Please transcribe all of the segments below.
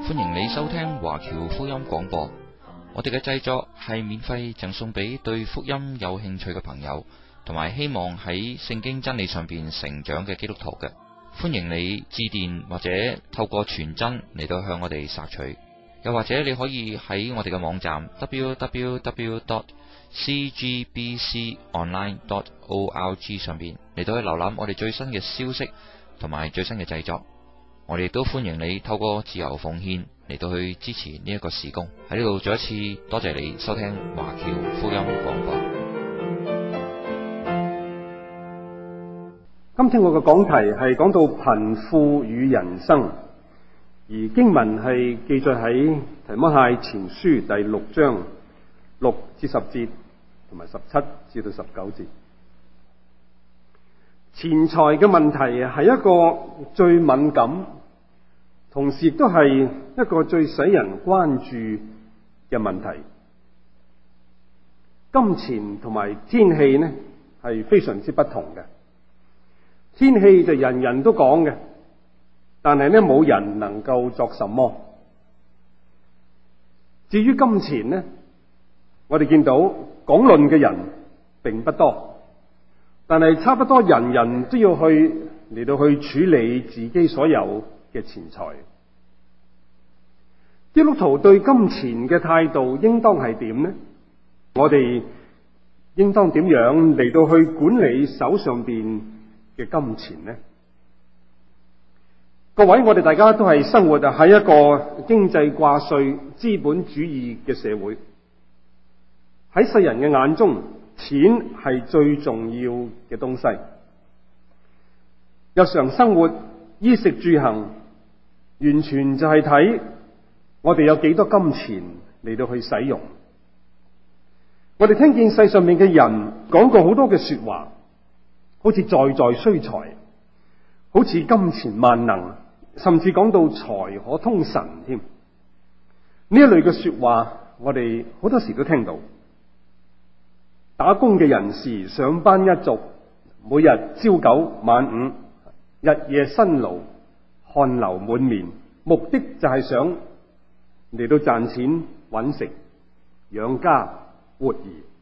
歡迎你收聽華僑福音廣播。我哋嘅製作係免費贈送俾對福音有興趣嘅朋友，同埋希望喺聖經真理上邊成長嘅基督徒嘅。歡迎你致電或者透過傳真嚟到向我哋索取，又或者你可以喺我哋嘅網站 www.cgbconline.org 上邊嚟到去瀏覽我哋最新嘅消息同埋最新嘅製作。我哋都歡迎你透過自由奉獻嚟到去支持呢一個事工。喺呢度再一次多謝你收聽華僑福音廣播。 今天我嘅講題係講到貧富與人生，而經文係記載喺提摩太前書第6章6至10節同埋17至到19節。錢財嘅問題係一個最敏感，同時亦都係一個最使人關注嘅問題。金錢同埋天氣呢係非常之不同嘅。天氣就人人都講嘅，但係呢冇人能夠作什麼。至於金錢呢，我哋見到講論嘅人並不多，但係差不多人人都要嚟到去處理自己所有嘅錢財。基督徒對金錢嘅態度應當係點呢？我哋應當點樣嚟到去管理手上邊嘅金錢呢？各位，我哋大家都係生活喺一個經濟掛帥、資本主義嘅社會。喺世人嘅眼中，錢係最重要嘅東西。日常生活、衣食住行，完全就係睇我哋有幾多金錢嚟到去使用。我哋聽見世上面嘅人講過好多嘅說話，好似在在需財，好似金錢萬能，甚至講到財可通神添。呢一類嘅說話，我哋好多時都聽到。打工嘅人士上班一族，每日朝九晚五，日夜辛勞，汗流滿面，目的就係想嚟到賺錢揾食，養家活兒。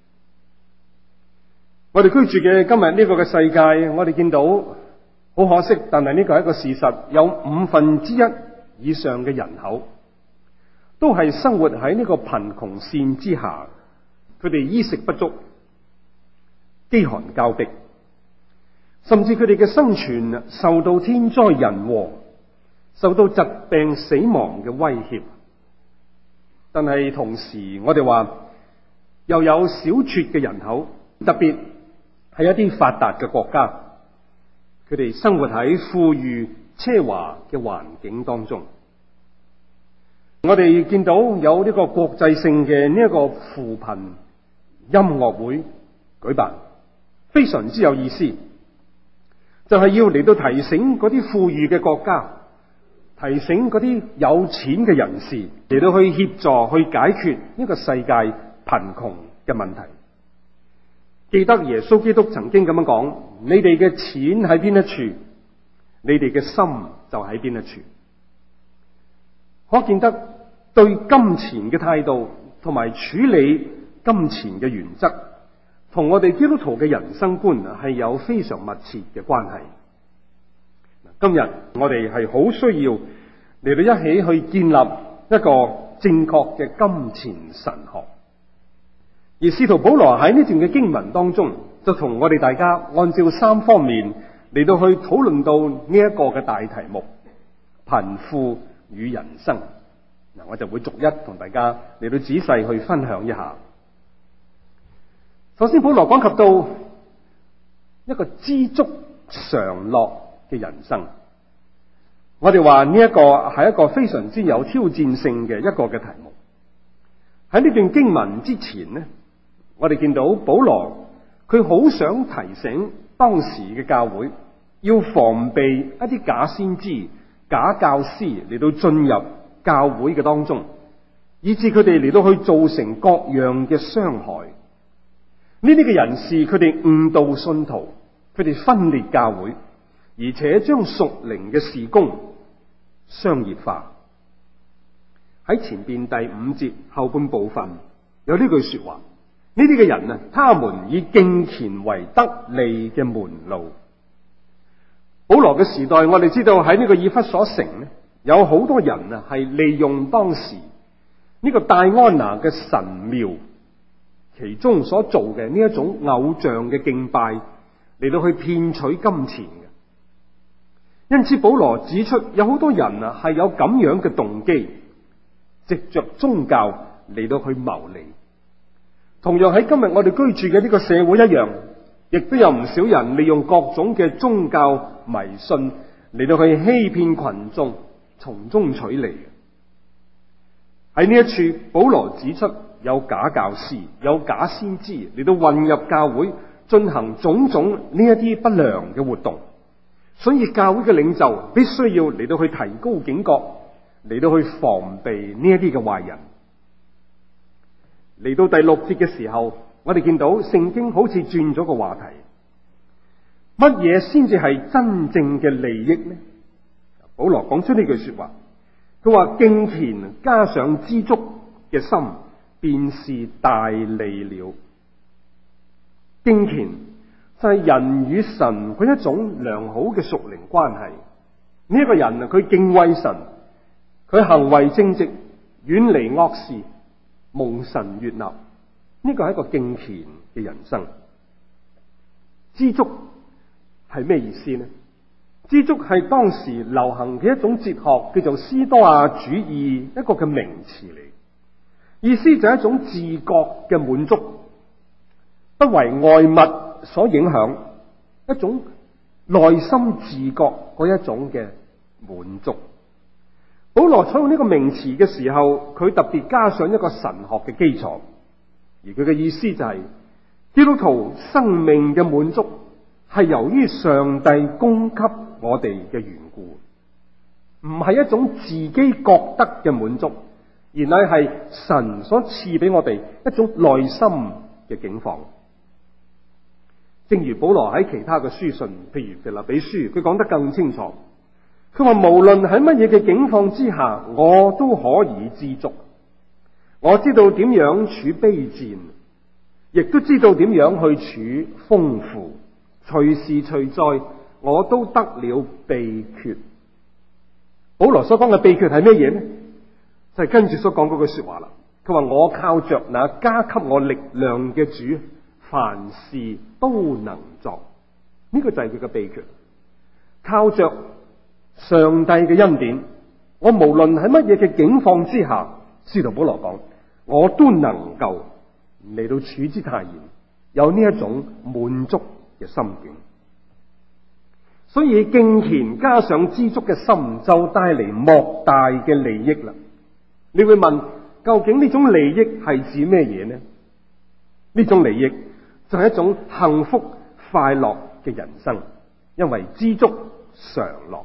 我哋居住嘅今日呢個嘅世界，我哋見到好可惜，但係呢個係一個事實，有1/5以上嘅人口都係生活喺呢個貧窮線之下，佢哋衣食不足，飢寒交迫，甚至佢哋嘅生存受到天災人禍，受到疾病死亡嘅威脅。但係同時我哋話又有小撮嘅人口，特別係一啲發達嘅國家，佢哋生活喺富裕奢華嘅環境當中。我哋見到有呢個國際性嘅呢一個扶貧音樂會舉辦，非常之有意思，就係要嚟到提醒嗰啲富裕嘅國家，提醒嗰啲有錢嘅人士嚟到去協助去解決呢個世界貧窮嘅問題。記得耶穌基督曾經咁樣講：你哋嘅錢喺邊一處，你哋嘅心就喺邊一處。可見得對金錢嘅態度同埋處理金錢嘅原則，同我哋基督徒嘅人生觀係有非常密切嘅關係。今日我哋係好需要嚟到一起去建立一個正確嘅金錢神學。而使徒保羅喺呢段嘅經文當中，就同我哋大家按照3方面嚟到去討論到呢一個嘅大題目：貧富與人生。嗱，我就會逐一同大家嚟到仔細去分享一下。首先，保羅講及到一個知足常樂嘅人生。我哋話呢一個係一個非常之有挑戰性嘅一個嘅題目。喺呢段經文之前呢，我哋見到保羅佢好想提醒當時嘅教會，要防備一啲假先知、假教師嚟到進入教會嘅當中，以致佢哋嚟到去造成各樣嘅傷害。呢啲嘅人士，佢哋誤導信徒，佢哋分裂教會，而且將屬靈嘅事工商業化。 喺前邊第5節後半部分有呢句說話，呢啲嘅人啊，他們以敬虔為得利嘅門路。保羅嘅時代，我哋知道喺呢個以弗所城咧，有好多人啊係利用當時呢個戴安娜嘅神廟其中所做嘅呢一種偶像嘅敬拜嚟到去騙取金錢嘅。因此保羅指出有好多人啊係有咁樣嘅動機，藉着宗教嚟到去謀利。同樣喺今日我哋居住嘅呢個社會一樣，亦都有唔少人利用各種嘅宗教迷信嚟到去欺騙群眾，從中取利。喺呢一處，保羅指出有假教師、有假先知嚟到混入教會，進行種種呢一啲不良嘅活動。所以教會嘅領袖必須要嚟到去提高警覺，嚟到去防備呢一啲嘅壞人。嚟到第6節嘅時候，我哋見到聖經好似轉咗個話題，乜嘢先至係真正嘅利益呢？保羅講出呢句說話，佢話敬虔加上知足嘅心，便是大利了。敬虔就係人與神佢一種良好嘅屬靈關係。呢一個人啊，佢敬畏神，佢行為正直，遠離惡事，蒙神悅納。呢個係一個敬虔嘅人生。知足係咩意思呢？知足係當時流行嘅一種哲學，叫做斯多亞主義一個嘅名詞嚟。意思就係一種自覺嘅滿足，不為外物所影響，一種內心自覺嗰一種嘅滿足。保羅採用呢個名詞嘅時候，佢特別加上一個神學嘅基礎，而佢嘅意思就係基督徒生命嘅滿足係由於上帝供給我哋嘅緣故，唔係一種自己覺得嘅滿足，而乃係神所賜俾我哋一種內心嘅境況。正如保羅喺其他嘅書信，譬如腓立比書，佢講得更清楚。佢話無論喺乜嘢嘅境況之下，我都可以知足。我知道點樣處卑賤，亦都知道點樣去處豐富。隨時隨在，我都得了秘訣。保羅所講嘅秘訣係咩嘢呢？就係跟住所講嗰句說話啦。佢話我靠着那加給我力量嘅主，凡事都能作。呢個就係佢嘅秘訣。靠着上帝嘅恩典，我無論喺乜嘢嘅境況之下，使徒保羅講，我都能夠嚟到處之泰然，有呢一種滿足嘅心境。所以敬虔加上知足嘅心，就帶嚟莫大嘅利益啦。你會問，究竟呢種利益係指咩嘢呢？呢種利益就係一種幸福快樂嘅人生，因為知足常樂。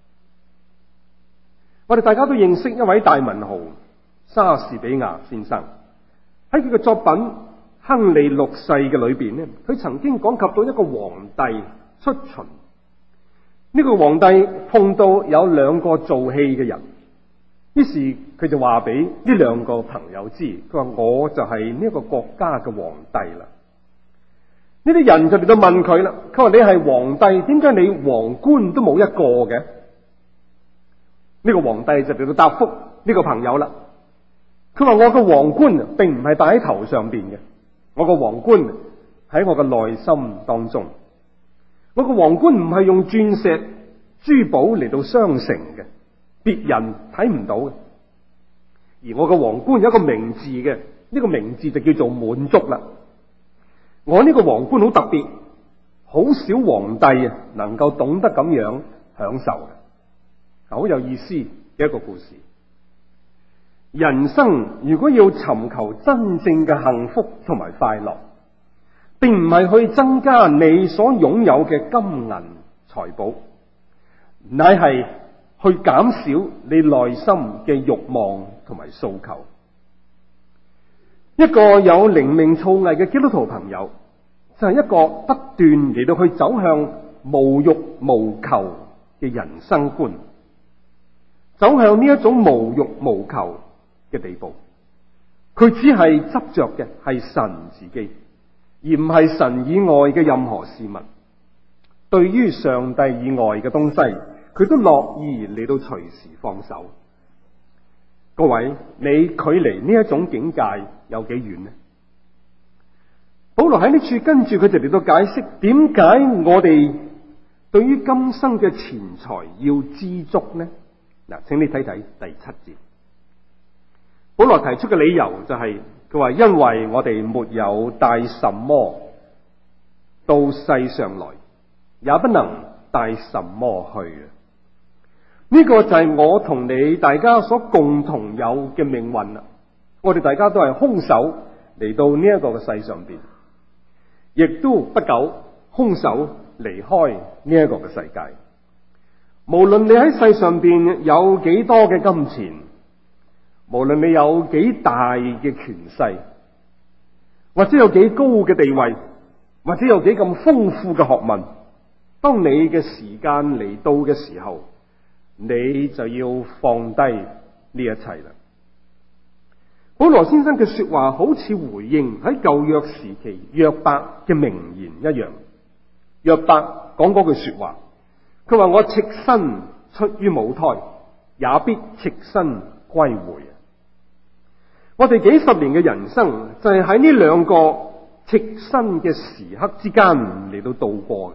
我哋大家都認識一位大文豪莎士比亞先生，喺佢嘅作品《亨利六世》嘅裏邊咧，佢曾經講及到一個皇帝出巡。呢個皇帝碰到有兩個做戲嘅人，於是佢就話俾呢兩個朋友知，佢話我就係呢個國家嘅皇帝啦。呢啲人就嚟到問佢啦，佢話你係皇帝，點解你皇冠都冇一個嘅？呢個皇帝就嚟到答覆呢個朋友啦。佢話我個皇冠並唔係戴喺頭上邊嘅，我個皇冠喺我嘅內心當中。我個皇冠唔係用鑽石、珠寶嚟到鑲成嘅，別人睇唔到嘅。而我個皇冠有一個名字嘅，呢個名字就叫做滿足啦。我呢個皇冠好特別，好少皇帝能夠懂得咁樣享受嘅。好有意思嘅一個故事。人生如果要尋求真正嘅幸福同埋快樂，並唔係去增加你所擁有嘅金銀財寶，乃係去減少你內心嘅慾望同埋訴求。一個有靈命造詣嘅基督徒朋友，就係一個不斷嚟到去走向無慾無求嘅人生觀。走向呢一種無慾無求， 嘅地步。佢只係執着嘅係神自己，而唔係神以外嘅任何事物。對於上帝以外嘅東西，佢都樂意嚟到隨時放手。各位，你距離呢一種境界有幾遠呢？保羅喺呢處跟住佢哋嚟到解釋，點解我哋對於今生嘅錢財要知足呢？嗱，請你睇睇第7節。保羅提出嘅理由就係，佢話因為我哋沒有帶什麼到世上來，也不能帶什麼去。呢個就係我同你大家所共同有嘅命運啦。我哋大家都係空手嚟到呢一個嘅世上邊，亦都不久空手離開呢一個嘅世界。無論你喺世上邊有幾多嘅金錢，無論你有幾大嘅權勢，或者有幾高嘅地位，或者有幾咁豐富嘅學問，當你嘅時間嚟到嘅時候，你就要放低呢一切啦。保羅先生嘅說話好似回應喺舊約時期約伯嘅名言一樣。約伯講嗰句說話，佢話我赤身出於母胎，也必赤身歸回。我哋幾十年嘅人生就係喺呢兩個赤身嘅時刻之間嚟到度過嘅。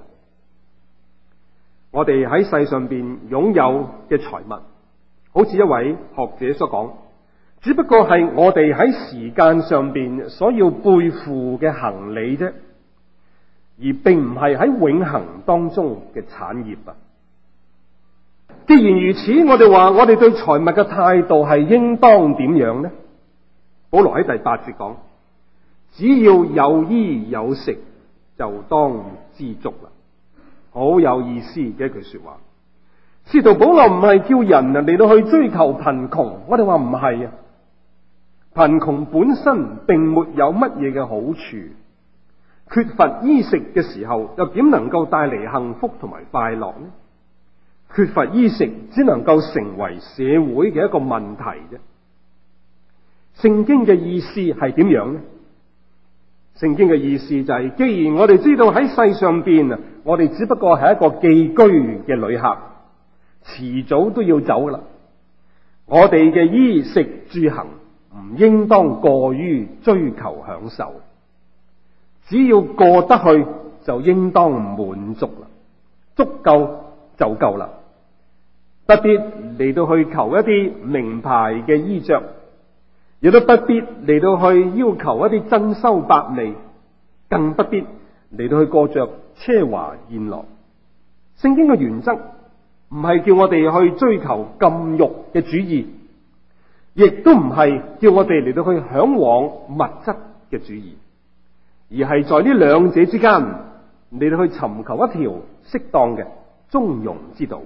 我哋喺世上邊擁有嘅財物，好似一位學者所講，只不過係我哋喺時間上邊所要背負嘅行李啫，而並唔係喺永恆當中嘅產業啊。既然如此，我哋話我哋對財物嘅態度係應當點樣呢？保羅喺第8節講，只要有衣有食，就當知足啦。好有意思嘅一句說話。使徒保羅唔係叫人嚟到去追求貧窮，我哋話唔係啊。貧窮本身並沒有乜嘢嘅好處，缺乏衣食嘅時候，又點能夠帶嚟幸福同埋快樂呢？缺乏衣食只能夠成為社會嘅一個問題啫。聖經嘅意思係點樣呢？聖經嘅意思就係，既然我哋知道喺世上邊，我哋只不過係一個寄居嘅旅客，遲早都要走啦。我哋嘅衣食住行唔應當過於追求享受，只要過得去就應當滿足啦，足夠就夠啦。不必嚟到去求一啲名牌嘅衣着，亦都不必嚟到去要求一啲珍饈百味，更不必嚟到去過着奢華宴樂。聖經嘅原則唔係叫我哋去追求禁欲嘅主義，亦都唔係叫我哋嚟到去向往物質嘅主義，而係在呢兩者之間嚟到去尋求一條適當嘅中庸之道。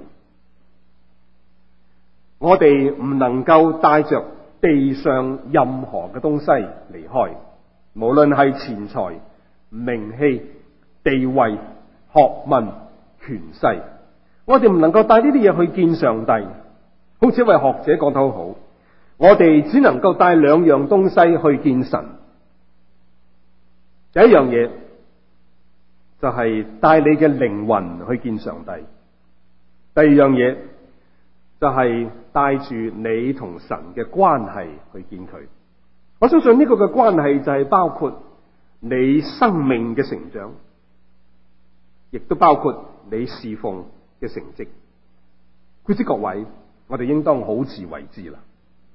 我哋唔能夠帶着地上任何嘅東西離開，無論係錢財、名氣、地位、學問、權勢，我哋唔能夠帶呢啲嘢去見上帝。好似一位學者講得好好，我哋只能夠帶兩樣東西去見神。第一樣嘢就係帶你嘅靈魂去見上帝，第二樣嘢就係帶住你同神嘅關係去見佢。我相信呢個嘅關係就係包括你生命嘅成長，亦都包括你侍奉嘅成績。故知各位，我哋應當好自為之啦。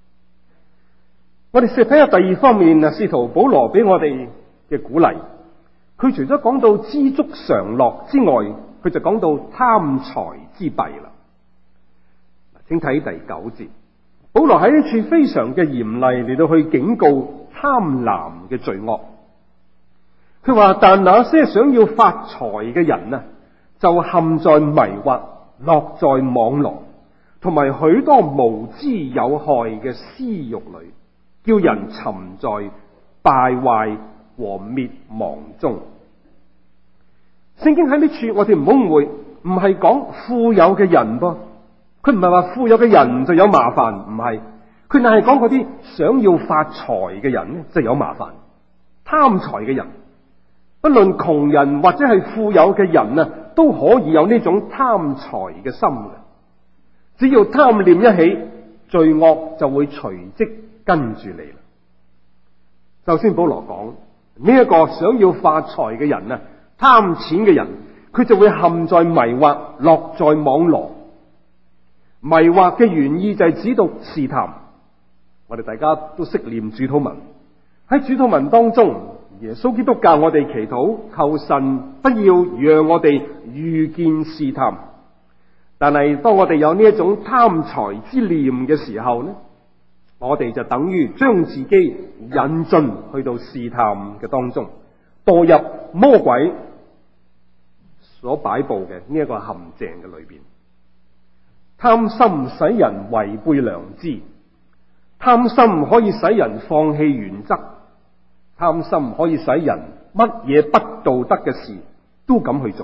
我哋試睇下第二方面啊，使徒保羅俾我哋嘅鼓勵。佢除咗講到知足常樂之外，佢就講到貪財之弊啦。請睇第9節，保羅喺呢處非常嘅嚴厲嚟到去警告貪婪嘅罪惡。佢話：但那些想要發財嘅人啊，就陷在迷惑、落在網羅同埋許多無知有害嘅私欲裏，叫人沉在敗壞和滅亡中。聖經喺呢處，我哋唔好誤會，唔係講富有嘅人噃。佢唔係話富有嘅人就有麻煩，唔係。 佢乃係講嗰啲想要發財嘅人呢，就有麻煩。貪財嘅人，不論窮人或者係富有嘅人啊，都可以有呢種貪財嘅心嘅。只要貪念一起，罪惡就會隨即跟住你啦。首先保羅講呢一個想要發財嘅人啊，貪錢嘅人，佢就會陷在迷惑，落在網羅。迷惑嘅原意就係指讀試探。我哋大家都識念主禱文，喺主禱文當中，耶穌基督教我哋祈禱，求神不要讓我哋遇見試探。但係當我哋有呢一種貪財之念嘅時候呢，我哋就等於將自己引進去到試探嘅當中，墮入魔鬼所擺布嘅呢一個陷阱嘅裏邊。貪心使人違背良知，貪心可以使人放棄原則，貪心可以使人乜嘢不道德嘅事都敢去做。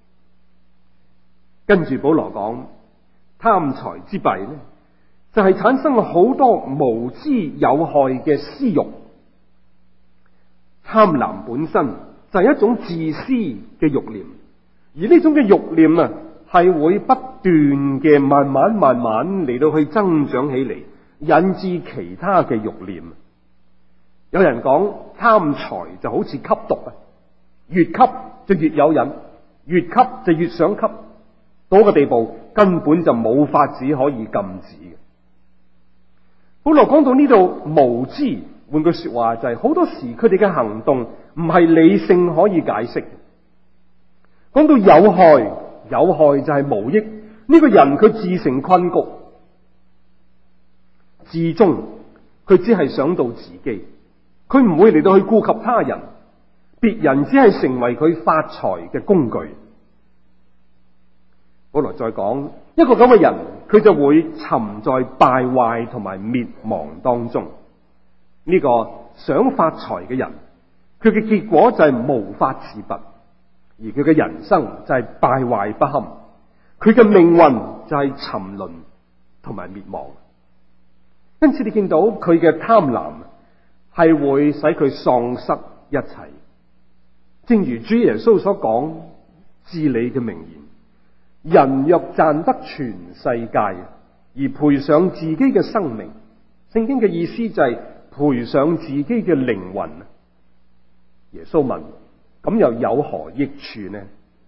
跟住保羅講，貪財之弊呢，就係產生好多無知有害嘅私欲。貪婪本身就係一種自私嘅欲念，而呢種嘅欲念啊，係會不斷嘅慢慢嚟到去增長起嚟，引致其他嘅欲念。有人講貪財就好似吸毒啊，越吸就越有癮，越吸就越想吸，到個地步根本就冇法子可以禁止嘅。保羅講到呢度無知，換句說話就係好多時佢哋嘅行動唔係理性可以解釋。講到有害就係無益。呢個人佢自成困局，至終佢只係想到自己，佢唔會嚟到去顧及他人，別人只係成為佢發財嘅工具。保羅再講一個咁嘅人，佢就會沉在敗壞同埋滅亡當中。呢個想發財嘅人，佢嘅結果就係無法自拔，而佢嘅人生就係敗壞不堪，佢嘅命運就係沉淪同埋滅亡。因此你見到佢嘅貪婪係會使佢喪失一切。正如主耶穌所講至理嘅名言，人若賺得全世界而賠上自己嘅生命，聖經嘅意思就係賠上自己嘅靈魂。耶穌問：咁又有何益處呢？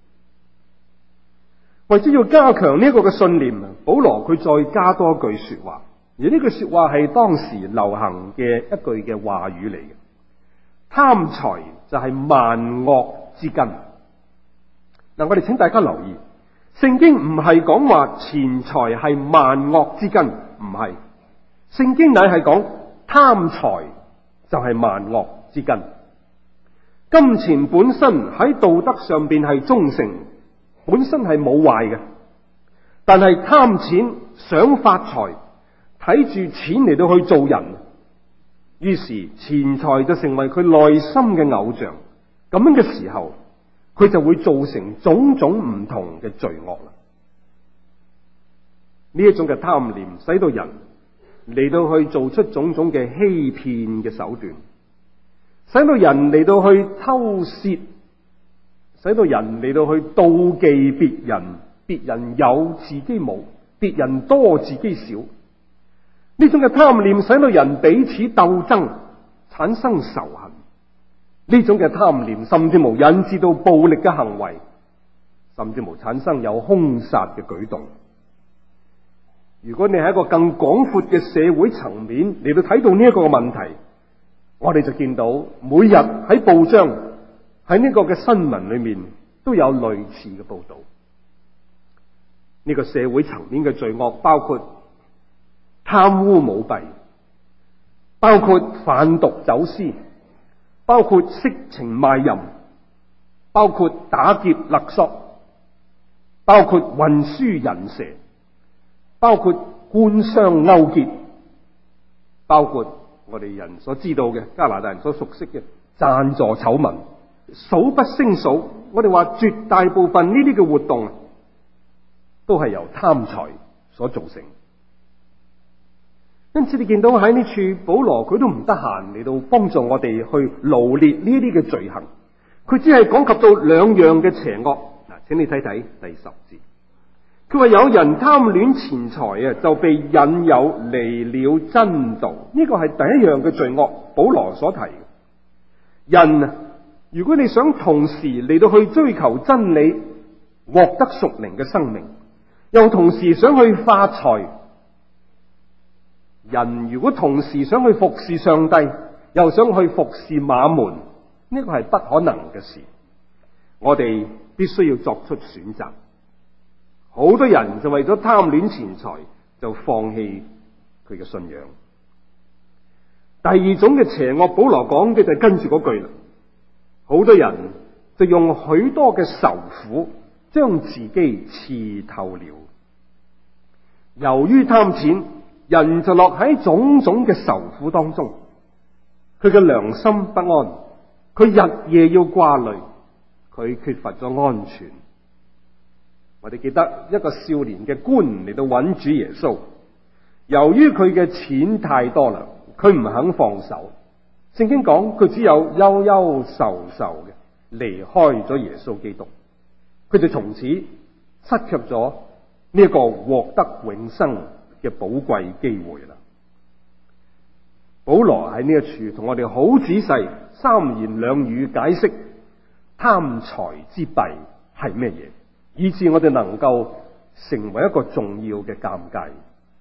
為咗要加強呢一個嘅信念，保羅佢再加多一句說話，而呢句說話係當時流行嘅一句嘅話語嚟嘅。貪財就係萬惡之根。嗱，我哋請大家留意，聖經唔係講話錢財係萬惡之根，唔係。聖經乃係講貪財就係萬惡之根。金錢本身喺道德上邊係忠誠，本身係冇壞嘅，但係貪錢想發財，睇住錢嚟到去做人，於是錢財就成為佢內心嘅偶像。咁樣嘅時候，佢就會造成種種唔同嘅罪惡啦。呢一種嘅貪念使到人嚟到去做出種種嘅欺騙嘅手段，使到人嚟到去偷竊，使到人嚟到去妒忌別人，別人有自己冇，別人多自己少。呢種嘅貪念使到人彼此鬥爭，產生仇恨。呢種嘅貪念甚至無引致到暴力嘅行為，甚至無產生有兇殺嘅舉動。如果你喺一個更廣闊嘅社會層面嚟到睇到呢一個問題，我哋就見到每日喺報章喺呢個嘅新聞裏面都有類似嘅報道。呢個社會層面嘅罪惡包括貪污舞弊，包括販毒走私，包括色情賣淫，包括打劫勒索，包括運輸人蛇，包括官商勾結，包括我哋人所知道嘅加拿大人所熟悉嘅贊助醜聞，數不勝數。我哋話絕大部分呢啲嘅活動都係由貪財所造成。 因此你見到喺呢處保羅佢都唔得閒嚟到幫助我哋去羅列呢啲嘅罪行，佢只係講及到兩樣嘅邪惡。嗱，請你睇睇第10節，佢話有人貪戀錢財就被引誘離了真道。呢個係第一樣嘅罪惡，保羅所提。人如果你想同時嚟到去追求真理，獲得屬靈嘅生命，又同時想去發財，人如果同時想去服侍上帝，又想去服侍馬門，呢個係不可能嘅事。我哋必須要作出選擇。好多人就為咗貪戀錢財，就放棄佢嘅信仰。第二種嘅邪惡，保羅講嘅就係跟住嗰句啦。好多人就用許多嘅愁苦，將自己刺透了。由於貪錢，人就落喺種種嘅愁苦當中，佢嘅良心不安，佢日夜要掛慮，佢缺乏咗安全。我哋記得一個少年嘅官嚟到揾主耶穌，由於佢嘅錢太多啦，佢唔肯放手。聖經講佢只有憂憂愁愁嘅離開咗耶穌基督，佢就從此失卻咗呢一個獲得永生嘅寶貴機會啦。保羅喺呢一處同我哋好仔細三言兩語解釋貪財之弊係咩嘢，以致我哋能夠成為一個重要嘅鑑戒。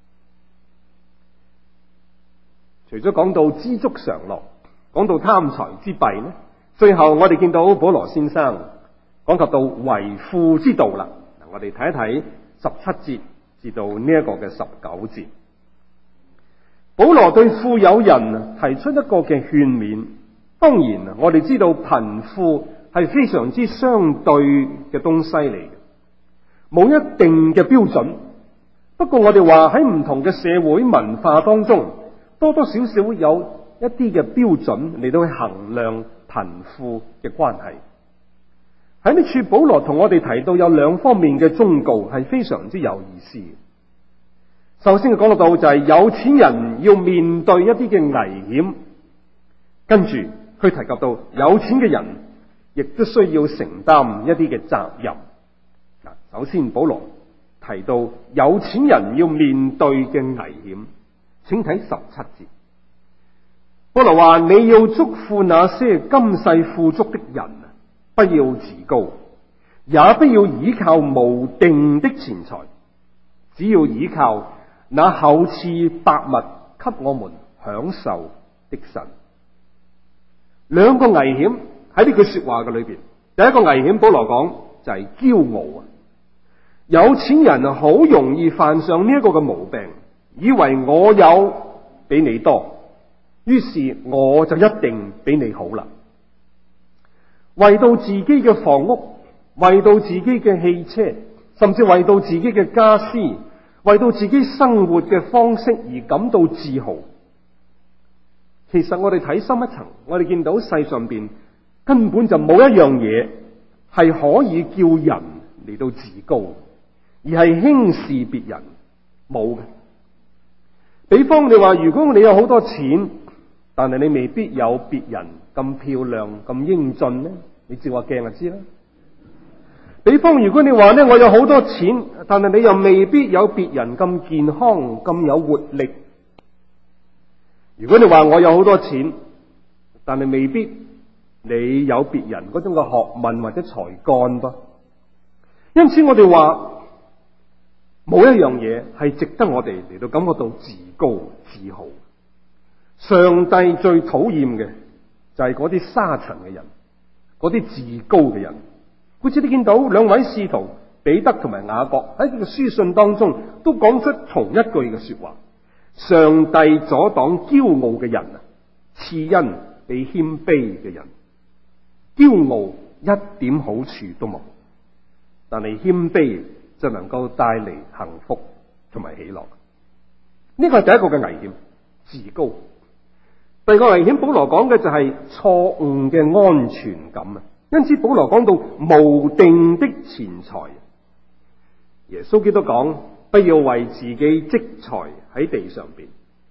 除咗講到知足常樂，講到貪財之弊呢，最後我哋見到保羅先生講及到為富之道啦。我哋睇一睇17節至到呢一個嘅19節，保羅對富有人提出一個嘅勸勉。當然我哋知道貧富係非常之相對嘅東西嚟嘅，冇一定嘅標準。不過我哋話喺唔同嘅社會文化當中，多多少少有一啲嘅標準嚟到去衡量貧富嘅關係。喺呢處保羅同我哋提到有兩方面嘅忠告係非常之有意思。首先佢講到就係有錢人要面對一啲嘅危險，跟住佢提及到有錢嘅人亦都需要承擔一啲嘅責任。首先保羅提到有錢人要面對嘅危險，請睇17節。保羅話：你要囑咐那些今世富足的人，不要自高，也不要倚靠無定的錢財，只要倚靠那厚賜百物給我們享受的神。兩個危險喺呢句說話嘅裏邊，第一個危險保羅講就係驕傲啊！有錢人好容易犯上呢一個嘅毛病，以為我有比你多，於是我就一定比你好啦。為到自己嘅房屋，為到自己嘅汽車，甚至為到自己嘅家私，為到自己生活嘅方式而感到自豪。其實我哋睇深一層，我哋見到世上邊根本就冇一樣嘢係可以叫人嚟到自高，而係輕視別人，冇嘅。比方你話，如果你有好多錢，但係你未必有別人咁漂亮咁英俊呢，你照下鏡就知啦。比方如果你話呢，我有好多錢，但係你又未必有別人咁健康咁有活力。如果你話我有好多錢，但係未必你有別人嗰種嘅學問或者才幹噃。因此我哋話冇一樣嘢係值得我哋嚟到感覺到自高自豪。上帝最討厭嘅就係嗰啲沙塵嘅人，嗰啲自高嘅人。好似你見到兩位使徒彼得同埋雅各喺佢嘅書信當中都講出同一句嘅說話：上帝阻擋驕傲嘅人，賜恩俾謙卑嘅人。驕傲一點好處都冇，但係謙卑就能夠帶嚟幸福同埋喜樂。呢個係第一個嘅危險，自高。第二個危險，保羅講嘅就係錯誤嘅安全感啊！因此保羅講到無定的錢財。耶穌基督講：不要為自己積財喺地上邊，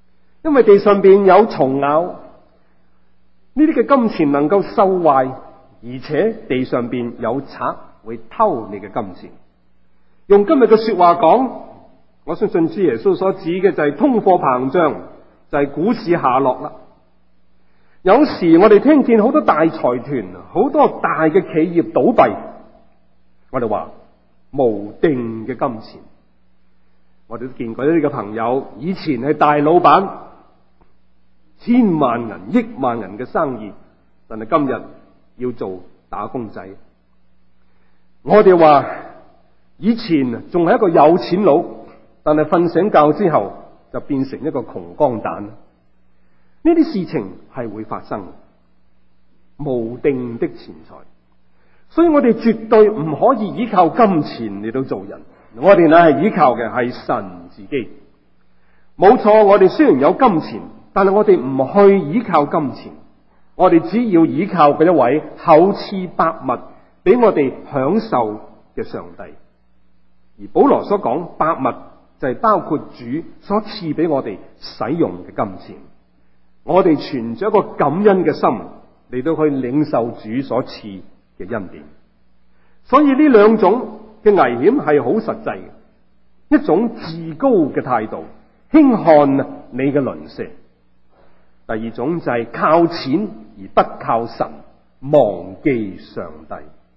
因為地上邊有蟲咬，呢啲嘅金錢能夠受壞，而且地上邊有賊會偷你嘅金錢。用今日嘅說話講，我相信主耶穌所指嘅就係通貨膨脹，就係股市下落啦。有時我哋聽見好多大財團、好多大嘅企業倒閉，我哋話無定嘅金錢。我哋都見過一啲嘅朋友，以前係大老闆，千萬銀、億萬銀嘅生意，但係今日要做打工仔。我哋話以前仲係一個有錢佬，但係瞓醒覺之後就變成一個窮光蛋。呢啲事情係會發生，無定的錢財，所以我哋絕對唔可以依靠金錢嚟到做人，我哋乃係依靠嘅係神自己。冇錯，我哋雖然有金錢，但係我哋唔去依靠金錢，我哋只要依靠嗰一位厚賜百物俾我哋享受嘅上帝。而保羅所講百物就係包括主所賜俾我哋使用嘅金錢。我哋存着一個感恩嘅心嚟到去領受主所賜嘅恩典，所以呢兩種嘅危險係好實際嘅。一種自高嘅態度，輕看你嘅鄰舍；第二種就係靠錢而不靠神，忘記上帝。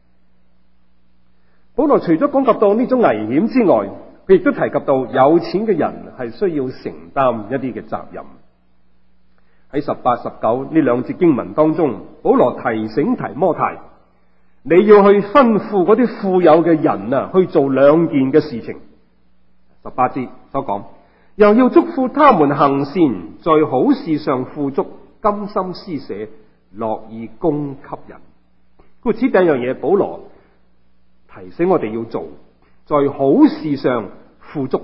保羅除咗講及到呢種危險之外，佢亦都提及到有錢嘅人係需要承擔一啲嘅責任。喺18、19呢兩節經文當中，保羅提醒提摩太，你要去吩咐嗰啲富有嘅人啊，去做兩件嘅事情。18節所講，又要囑咐他們行善，在好事上富足，甘心施捨，樂意供給人。故此第一樣嘢，保羅提醒我哋要做，在好事上富足。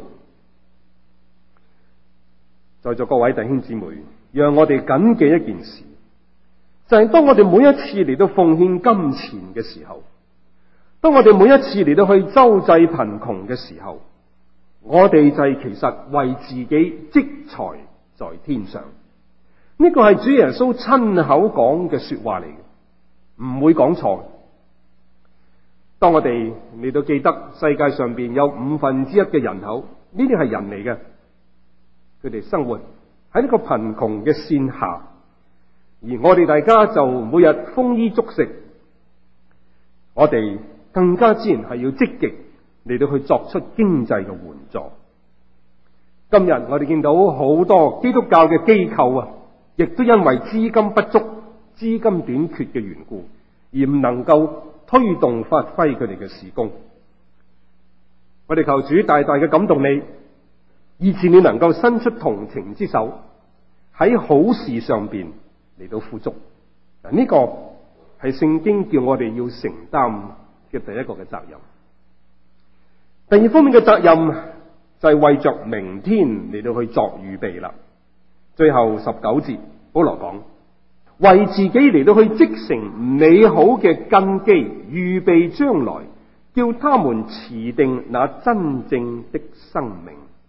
在座各位弟兄姊妹，讓我哋謹記一件事，就係當我哋每一次嚟到奉獻金錢嘅時候，當我哋每一次嚟到去周濟貧窮嘅時候，我哋就係其實為自己積財在天上。呢個係主耶穌親口講嘅說話嚟嘅，唔會講錯。當我哋嚟到記得世界上邊有1/5嘅人口，呢啲係人嚟嘅，佢哋生活喺呢個貧窮嘅線下，而我哋大家就每日豐衣足食，我哋更加自然係要積極嚟到去作出經濟嘅援助。今日我哋見到好多基督教嘅機構啊，亦都因為資金不足、資金短缺嘅緣故，而唔能夠推動發揮佢哋嘅事工。我哋求主大大嘅感動你，以致你能夠伸出同情之手，喺好事上邊嚟到富足。嗱，呢個係聖經叫我哋要承擔嘅第一個嘅責任。第二方面嘅責任就係為着明天嚟到去作預備啦。最後19節，保羅講，為自己嚟到去積成美好嘅根基，預備將來，叫他們持定那真正的生命。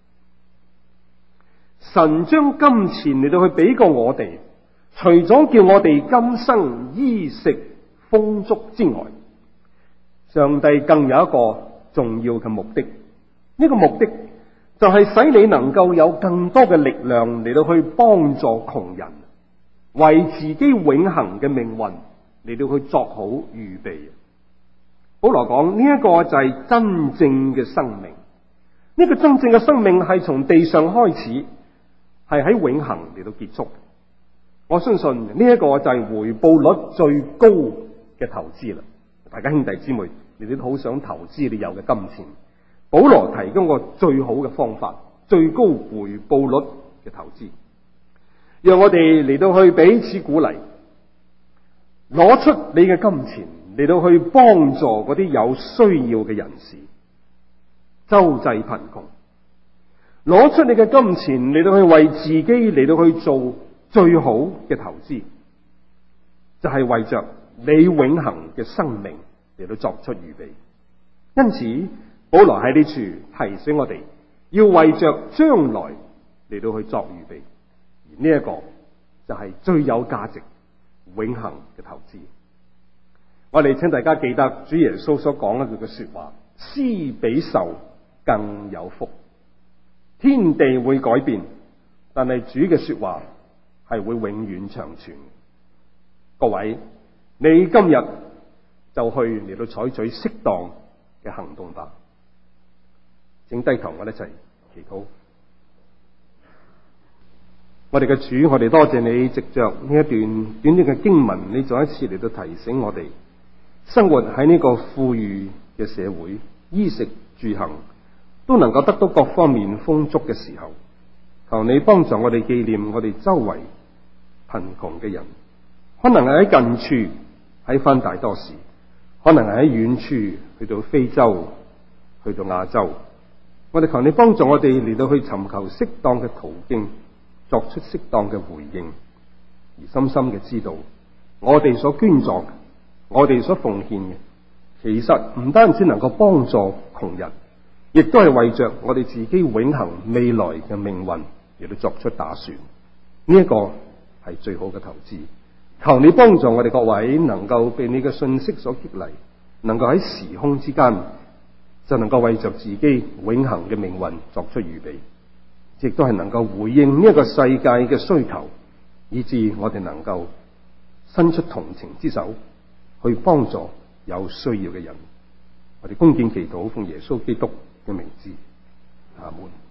神將金錢嚟到去俾過我哋，除咗叫我哋今生衣食豐足之外，上帝更有一個重要嘅目的。呢個目的就係使你能夠有更多嘅力量嚟到去幫助窮人，為自己永恆嘅命運嚟到去作好預備。保羅講，呢一個就係真正嘅生命。呢個真正嘅生命係從地上開始，係喺永恆嚟到結束。我相信呢一個就係回報率最高嘅投資啦。大家兄弟姊妹，你哋都好想投資你有嘅金錢。保羅提供個最好嘅方法，最高回報率嘅投資，讓我哋嚟到去彼此鼓勵，攞出你嘅金錢嚟到去幫助嗰啲有需要嘅人士，周濟貧窮。攞出你嘅金錢嚟到去為自己嚟到去做最好嘅投資，就係為着你永恆嘅生命嚟到作出預備。因此保羅喺呢處提醒我哋，要為着將來嚟到去作預備。 而呢一個就係最有價值、永恆嘅投資。我哋請大家記得主耶穌所講一句嘅說話：施比受更有福。天地會改變，但係主嘅說話係會永遠長存。各位，你今日就去嚟到採取適當嘅行動吧。請低頭，我哋一齊祈禱。我哋嘅主，我哋多謝你，藉着呢一段短短嘅經文，你再一次嚟到提醒我哋，生活喺呢個富裕嘅社會，衣食住行都能夠得到各方面豐足嘅時候，求你幫助我哋紀念我哋周圍貧窮嘅人，可能係喺近處喺返大多士，可能係喺遠處去到非洲，去到亞洲。我哋求你幫助我哋嚟到去尋求適當嘅途徑，作出適當嘅回應，而深深嘅知道我哋所捐助嘅，我哋所奉獻嘅，其實唔單止能夠幫助窮人，亦都係為着我哋自己永恆未來嘅命運嚟到作出打算。呢一個係最好嘅投資。求你幫助我哋各位能夠被你嘅信息所激勵，能夠喺時空之間就能夠為着自己永恆嘅命運作出預備，亦都係能夠回應呢一個世界嘅需求，以致我哋能夠伸出同情之手去幫助有需要嘅人。我哋恭敬祈禱，奉耶穌基督嘅名字，阿門。